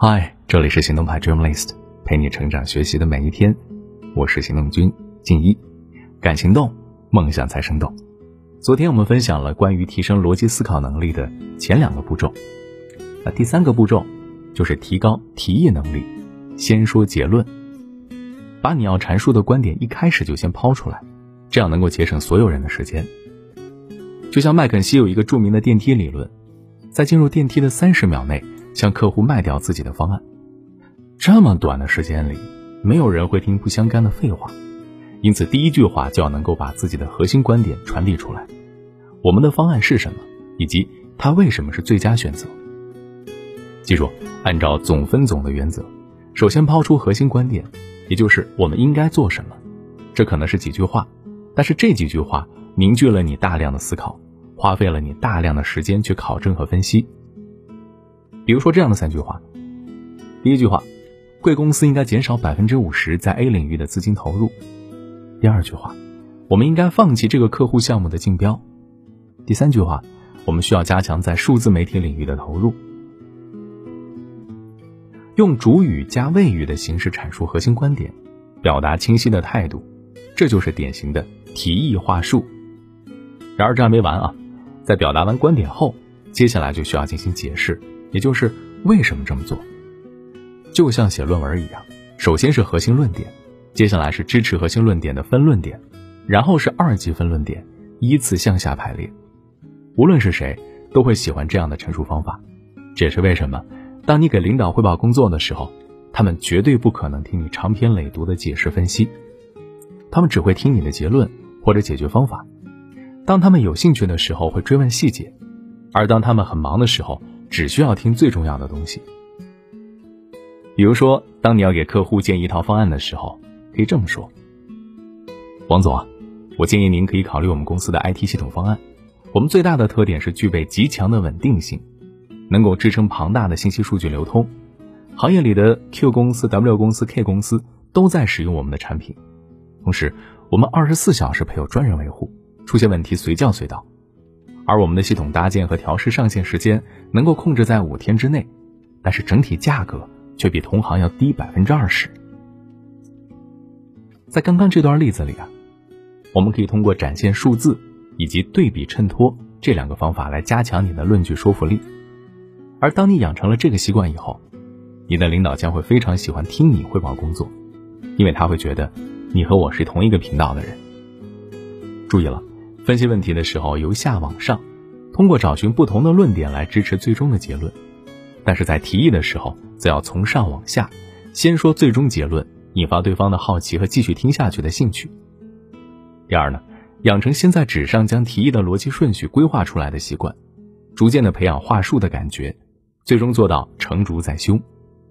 嗨，这里是行动派 Dreamlist， 陪你成长学习的每一天，我是行动君静一。敢行动，梦想才生动。昨天我们分享了关于提升逻辑思考能力的前2个步骤，那第3个步骤就是提高提议能力，先说结论，把你要阐述的观点一开始就先抛出来，这样能够节省所有人的时间。就像麦肯锡有一个著名的电梯理论，在进入电梯的30秒内向客户卖掉自己的方案。这么短的时间里，没有人会听不相干的废话，因此第一句话就要能够把自己的核心观点传递出来。我们的方案是什么，以及它为什么是最佳选择。记住，按照总分总的原则，首先抛出核心观点，也就是我们应该做什么。这可能是几句话，但是这几句话凝聚了你大量的思考，花费了你大量的时间去考证和分析。比如说这样的3句话。第一句话，贵公司应该减少 50% 在 A 领域的资金投入。第2句话，我们应该放弃这个客户项目的竞标。第3句话，我们需要加强在数字媒体领域的投入。用主语加谓语的形式阐述核心观点，表达清晰的态度，这就是典型的提议话术。然而这还没完啊，在表达完观点后，接下来就需要进行解释，也就是为什么这么做。就像写论文一样，首先是核心论点，接下来是支持核心论点的分论点，然后是2级分论点，依次向下排列。无论是谁都会喜欢这样的陈述方法，这也是为什么当你给领导汇报工作的时候，他们绝对不可能听你长篇累牍的解释分析，他们只会听你的结论或者解决方法。当他们有兴趣的时候会追问细节，而当他们很忙的时候，只需要听最重要的东西。比如说，当你要给客户建一套方案的时候，可以这么说：王总啊，我建议您可以考虑我们公司的 IT 系统方案。我们最大的特点是具备极强的稳定性，能够支撑庞大的信息数据流通。行业里的 Q 公司、W 公司、K 公司都在使用我们的产品。同时，我们24小时配有专人维护，出现问题随叫随到。而我们的系统搭建和调试上线时间能够控制在5天之内，但是整体价格却比同行要低 20%。 在刚刚这段例子里啊，我们可以通过展现数字以及对比衬托这2个方法来加强你的论据说服力。而当你养成了这个习惯以后，你的领导将会非常喜欢听你汇报工作，因为他会觉得你和我是同一个频道的人。注意了，分析问题的时候由下往上，通过找寻不同的论点来支持最终的结论。但是在提议的时候，则要从上往下，先说最终结论，引发对方的好奇和继续听下去的兴趣。第2呢，养成先在纸上将提议的逻辑顺序规划出来的习惯，逐渐的培养话术的感觉，最终做到成竹在胸。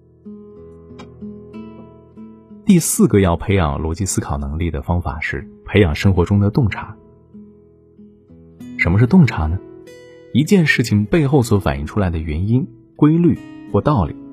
第4个要培养逻辑思考能力的方法是培养生活中的洞察。什么是洞察呢？一件事情背后所反映出来的原因、规律或道理。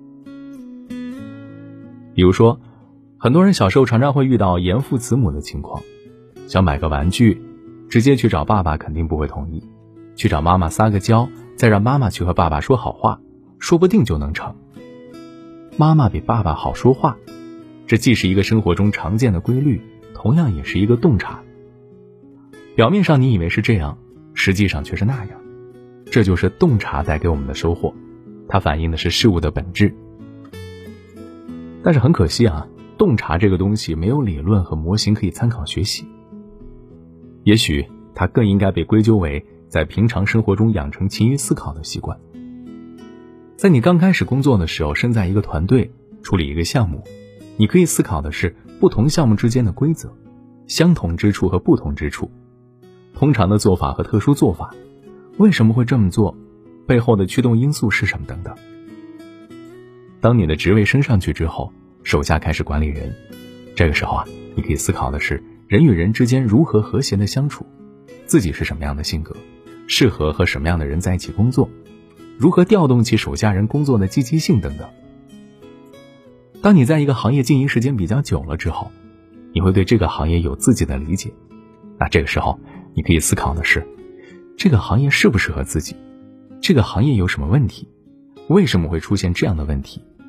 比如说，很多人小时候常常会遇到严父慈母的情况，想买个玩具，直接去找爸爸肯定不会同意，去找妈妈撒个娇，再让妈妈去和爸爸说好话，说不定就能成。妈妈比爸爸好说话，这既是一个生活中常见的规律，同样也是一个洞察。表面上你以为是这样，实际上却是那样，这就是洞察带给我们的收获，它反映的是事物的本质。但是很可惜啊，洞察这个东西没有理论和模型可以参考学习，也许它更应该被归咎为在平常生活中养成勤于思考的习惯。在你刚开始工作的时候，身在一个团队，处理一个项目，你可以思考的是不同项目之间的规则，相同之处和不同之处，通常的做法和特殊做法，为什么会这么做，背后的驱动因素是什么等等。当你的职位升上去之后，手下开始管理人，这个时候啊，你可以思考的是人与人之间如何和谐的相处，自己是什么样的性格，适合和什么样的人在一起工作，如何调动起手下人工作的积极性等等。当你在一个行业经营时间比较久了之后，你会对这个行业有自己的理解，那这个时候你可以思考的是，这个行业适不适合自己，这个行业有什么问题，为什么会出现这样的问题，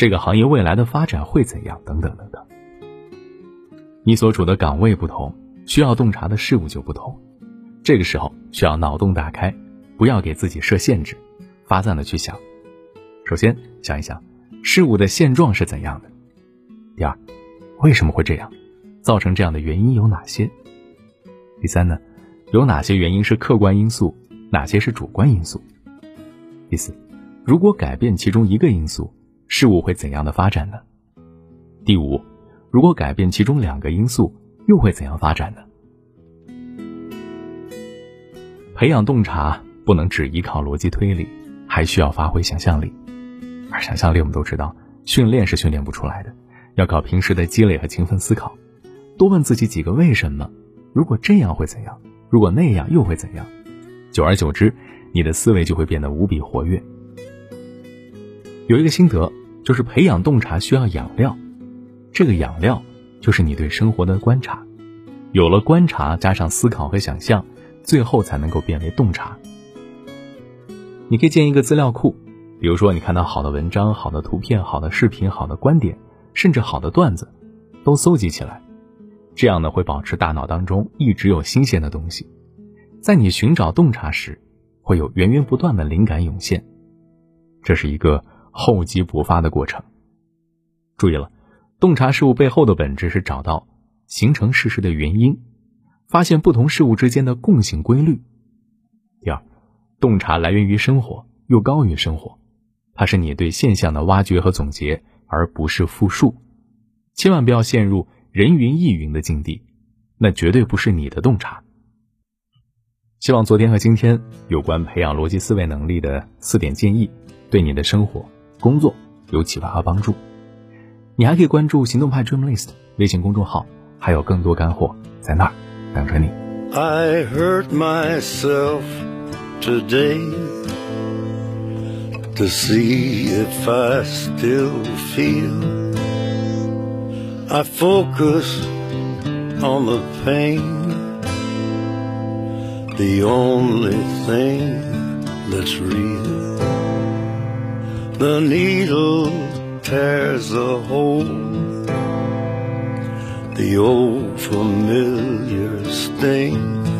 这个行业未来的发展会怎样等等等等。你所处的岗位不同，需要洞察的事物就不同，这个时候需要脑洞打开，不要给自己设限制，发散的去想。首先想一想事物的现状是怎样的，第二，为什么会这样，造成这样的原因有哪些，第三呢，有哪些原因是客观因素，哪些是主观因素，第四，如果改变其中一个因素，事物会怎样的发展呢？第五，如果改变其中两个因素，又会怎样发展呢？培养洞察不能只依靠逻辑推理，还需要发挥想象力。而想象力我们都知道，训练是训练不出来的，要靠平时的积累和勤奋思考。多问自己几个为什么，如果这样会怎样，如果那样又会怎样，久而久之，你的思维就会变得无比活跃。有一个心得，就是培养洞察需要养料，这个养料就是你对生活的观察，有了观察加上思考和想象，最后才能够变为洞察。你可以建一个资料库，比如说你看到好的文章、好的图片、好的视频、好的观点，甚至好的段子，都搜集起来，这样呢会保持大脑当中一直有新鲜的东西，在你寻找洞察时，会有源源不断的灵感涌现，这是一个厚积薄发的过程。注意了，洞察事物背后的本质是找到形成事实的原因，发现不同事物之间的共性规律。第二，洞察来源于生活，又高于生活，它是你对现象的挖掘和总结，而不是复述。千万不要陷入人云亦云的境地，那绝对不是你的洞察。希望昨天和今天有关培养逻辑思维能力的4点建议，对你的生活、工作有启发和帮助。你还可以关注行动派 Dreamlist 微信公众号，还有更多干货在那儿等着你。 I hurt myself today to see if I still feel. I focus on the pain, the only thing that's real. The needle tears a hole, the old familiar sting.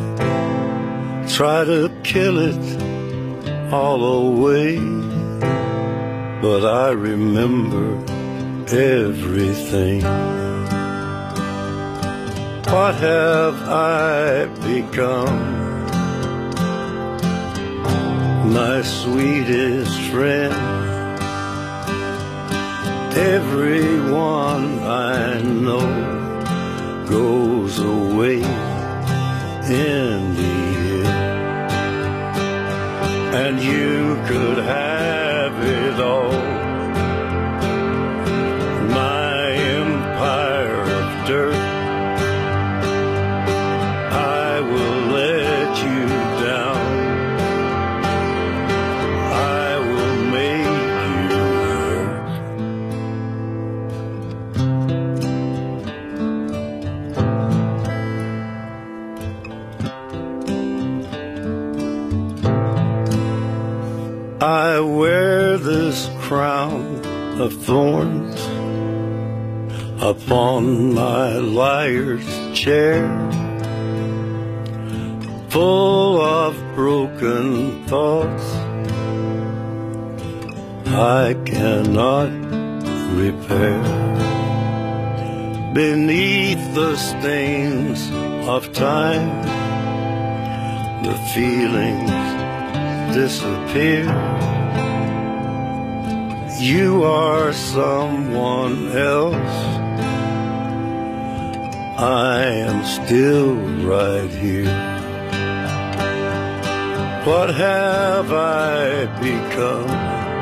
Try to kill it all away, but I remember everything. What have I become? My sweetest friend. Everyone I know goes away in the end, and you could have it all. My empire of dirt, I will let you down. I will make you hurt. I wear this crown of thorns upon my liar's chair, full of broken thoughts I cannot repair. Beneath the stains of time, the feelings disappear. You are someone else, I am still right here. What have I become?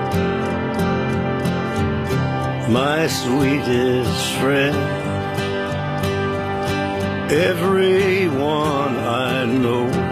My sweetest friend. Everyone I know